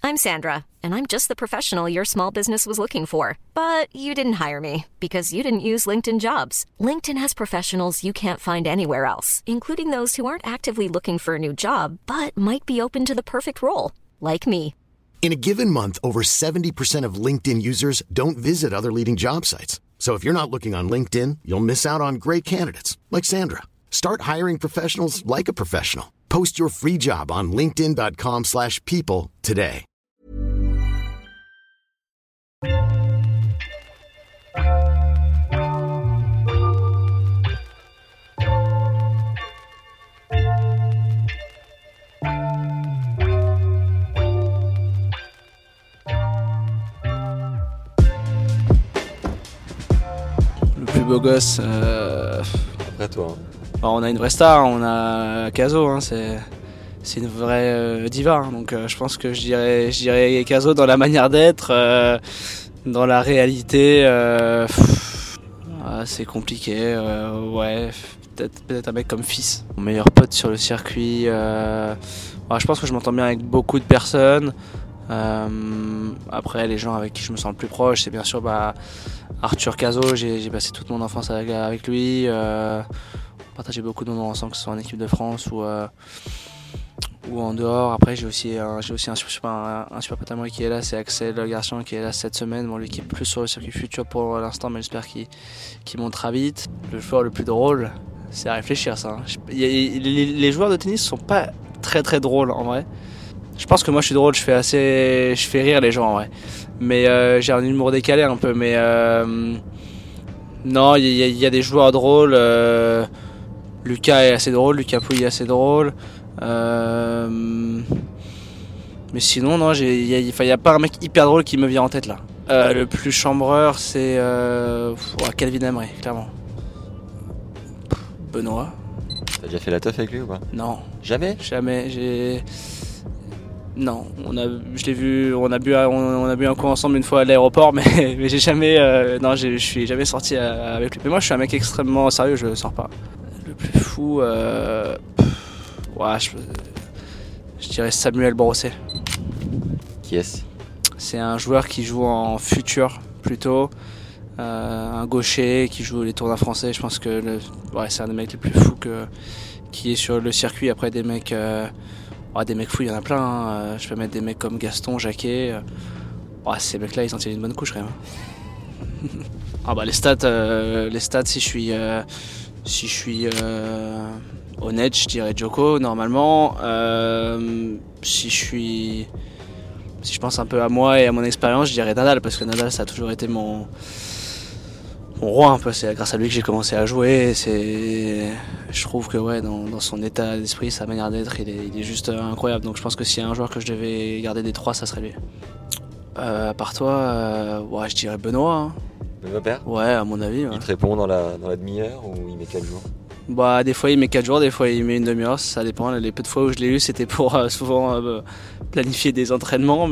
I'm Sandra, and I'm just the professional your small business was looking for. But you didn't hire me because you didn't use LinkedIn Jobs. LinkedIn has professionals you can't find anywhere else, including those who aren't actively looking for a new job, but might be open to the perfect role, like me. In a given month, over 70% of LinkedIn users don't visit other leading job sites. So if you're not looking on LinkedIn, you'll miss out on great candidates like Sandra. Start hiring professionals like a professional. Post your free job on linkedin.com/people today. Le plus beau gosse, Après toi. on a une vraie star, on a Caso, hein, c'est une vraie diva, hein, donc je pense que je dirais Caso dans la manière d'être, dans la réalité, c'est compliqué, ouais, peut-être un mec comme Fils. Mon meilleur pote sur le circuit, je pense que je m'entends bien avec beaucoup de personnes. Après, les gens avec qui je me sens le plus proche, c'est bien sûr Arthur Cazot. J'ai passé toute mon enfance avec lui. On partageait beaucoup de moments ensemble, que ce soit en équipe de France ou en dehors. Après, j'ai aussi un super pote à moi qui est là, c'est Axel Garçon qui est là cette semaine. Bon, lui qui est plus sur le circuit futur pour l'instant, mais j'espère qu'il montera vite. Le joueur le plus drôle, c'est à réfléchir ça. Hein. Les joueurs de tennis sont pas très très drôles en vrai. Je pense que moi je suis drôle, je fais rire les gens en vrai. Mais j'ai un humour décalé un peu. Mais non, il y a des joueurs drôles. Lucas est assez drôle, Lucas Pouille est assez drôle. Mais sinon, non, il y a pas un mec hyper drôle qui me vient en tête là. Le plus chambreur, c'est Calvin Emery, clairement. Benoît. T'as déjà fait la teuf avec lui ou pas? Non. Jamais? Jamais. Non, on a bu un coup ensemble une fois à l'aéroport, mais j'ai jamais, je suis jamais sorti avec lui. Mais moi, je suis un mec extrêmement sérieux, je sors pas. Le plus fou, je dirais Samuel Brosset. Qui est-ce? C'est un joueur qui joue en futur plutôt, un gaucher qui joue les tournois français. Je pense que c'est un des mecs les plus fous qui est sur le circuit. Après des mecs fous, il y en a plein. Hein. Je peux mettre des mecs comme Gaston, Jacquet. Ces mecs-là, ils en tiennent une bonne couche quand même. Les stats, si je suis honnête, je dirais Djoko normalement. Si je pense un peu à moi et à mon expérience, je dirais Nadal, parce que Nadal, ça a toujours été mon roi un peu. C'est grâce à lui que j'ai commencé à jouer. Je trouve que dans son état d'esprit, sa manière d'être, il est juste incroyable. Donc je pense que s'il y a un joueur que je devais garder des trois, ça serait lui. À part toi, je dirais Benoît. Hein. Benoît Paire? Ouais, à mon avis. Ouais. Il te répond dans la demi-heure ou il met 4 jours? Des fois il met 4 jours, des fois il met une demi-heure, ça dépend. Les peu de fois où je l'ai eu, c'était pour souvent planifier des entraînements.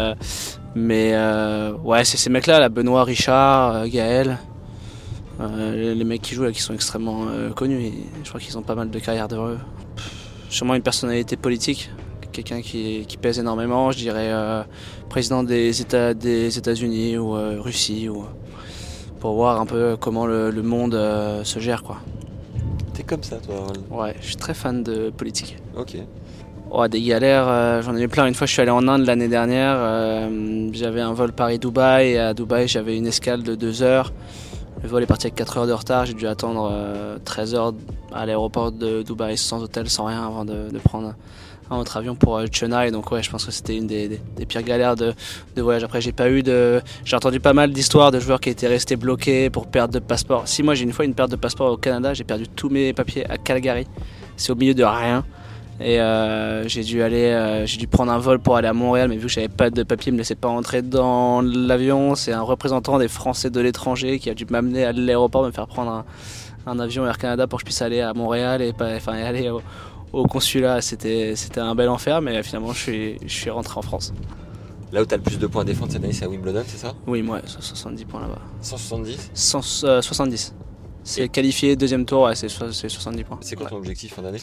C'est ces mecs-là, là, Benoît, Richard, Gaël. Les mecs qui jouent là, qui sont extrêmement connus, et je crois qu'ils ont pas mal de carrière devant eux. Sûrement une personnalité politique, quelqu'un qui pèse énormément, je dirais président des États-Unis ou Russie, pour voir un peu comment le monde se gère, quoi. T'es comme ça toi? Ouais, je suis très fan de politique. Ok. Des galères, j'en ai eu plein. Une fois je suis allé en Inde l'année dernière, j'avais un vol Paris-Dubaï, et à Dubaï j'avais une escale de 2 heures. Le vol est parti avec 4 heures de retard, j'ai dû attendre 13 heures à l'aéroport de Dubaï sans hôtel, sans rien, avant de prendre un autre avion pour Chennai. Donc je pense que c'était une des pires galères de voyage. Après j'ai entendu pas mal d'histoires de joueurs qui étaient restés bloqués pour perte de passeport. Si moi j'ai une fois une perte de passeport au Canada, j'ai perdu tous mes papiers à Calgary, c'est au milieu de rien. Et j'ai dû prendre un vol pour aller à Montréal, mais vu que j'avais pas de papier, il me laissait pas rentrer dans l'avion. C'est un représentant des Français de l'étranger qui a dû m'amener à l'aéroport, me faire prendre un avion Air Canada pour que je puisse aller à Montréal et aller au consulat. C'était un bel enfer, mais finalement je suis rentré en France. Là où t'as le plus de points à défendre cette année, c'est à Wimbledon, c'est ça? Oui, moi, 70 points là-bas. 170? 70. C'est qualifié deuxième tour, c'est 70 points. C'est quoi ton objectif fin d'année?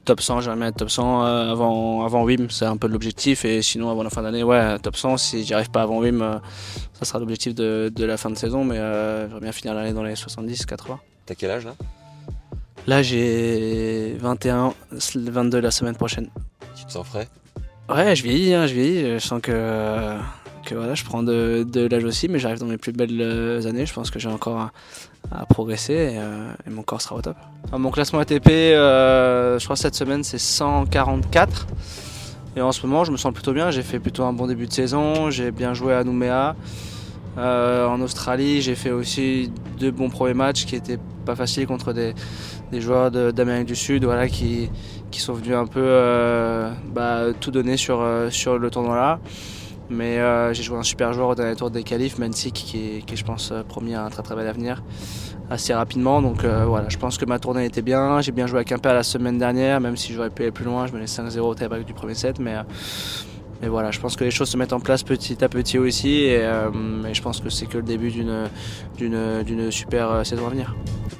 top 100, j'aimerais bien être top 100 avant WIM, c'est un peu l'objectif. Et sinon, avant la fin d'année, top 100. Si j'y arrive pas avant WIM, ça sera l'objectif de la fin de saison. Mais j'aimerais bien finir l'année dans les 70-80. T'as quel âge là ? Là, j'ai 21, 22 la semaine prochaine. Tu te sens frais ? Ouais, je vieillis. Je sens que voilà, je prends de l'âge aussi, mais j'arrive dans mes plus belles années. Je pense que j'ai encore à progresser et mon corps sera au top. Mon classement ATP, je crois cette semaine, c'est 144. Et en ce moment, je me sens plutôt bien. J'ai fait plutôt un bon début de saison. J'ai bien joué à Nouméa. En Australie, j'ai fait aussi 2 bons premiers matchs qui étaient pas faciles contre des joueurs d'Amérique du Sud, voilà, qui sont venus un peu tout donner sur le tournoi là. Mais j'ai joué un super joueur au dernier tour des qualifs, Mensik, qui est je pense promis à un très très bel avenir assez rapidement. Donc voilà, je pense que ma tournée était bien. J'ai bien joué à Quimper la semaine dernière, même si j'aurais pu aller plus loin. Je menais 5-0 au tie-break du premier set, mais voilà, je pense que les choses se mettent en place petit à petit aussi, et je pense que c'est que le début d'une super saison à venir.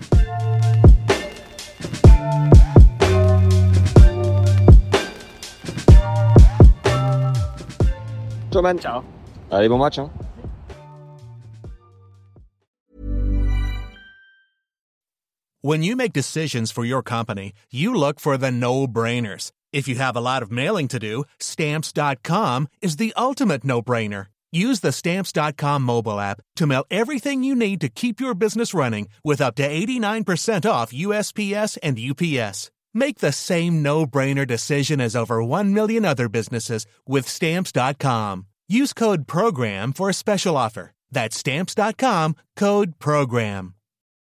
Ciao man. Ciao. Allez, bon match hein. When you make decisions for your company, you look for the no-brainers. If you have a lot of mailing to do, Stamps.com is the ultimate no-brainer. Use the Stamps.com mobile app to mail everything you need to keep your business running with up to 89% off USPS and UPS. Make the same no-brainer decision as over 1 million other businesses with Stamps.com. Use code PROGRAM for a special offer. That's Stamps.com, code PROGRAM.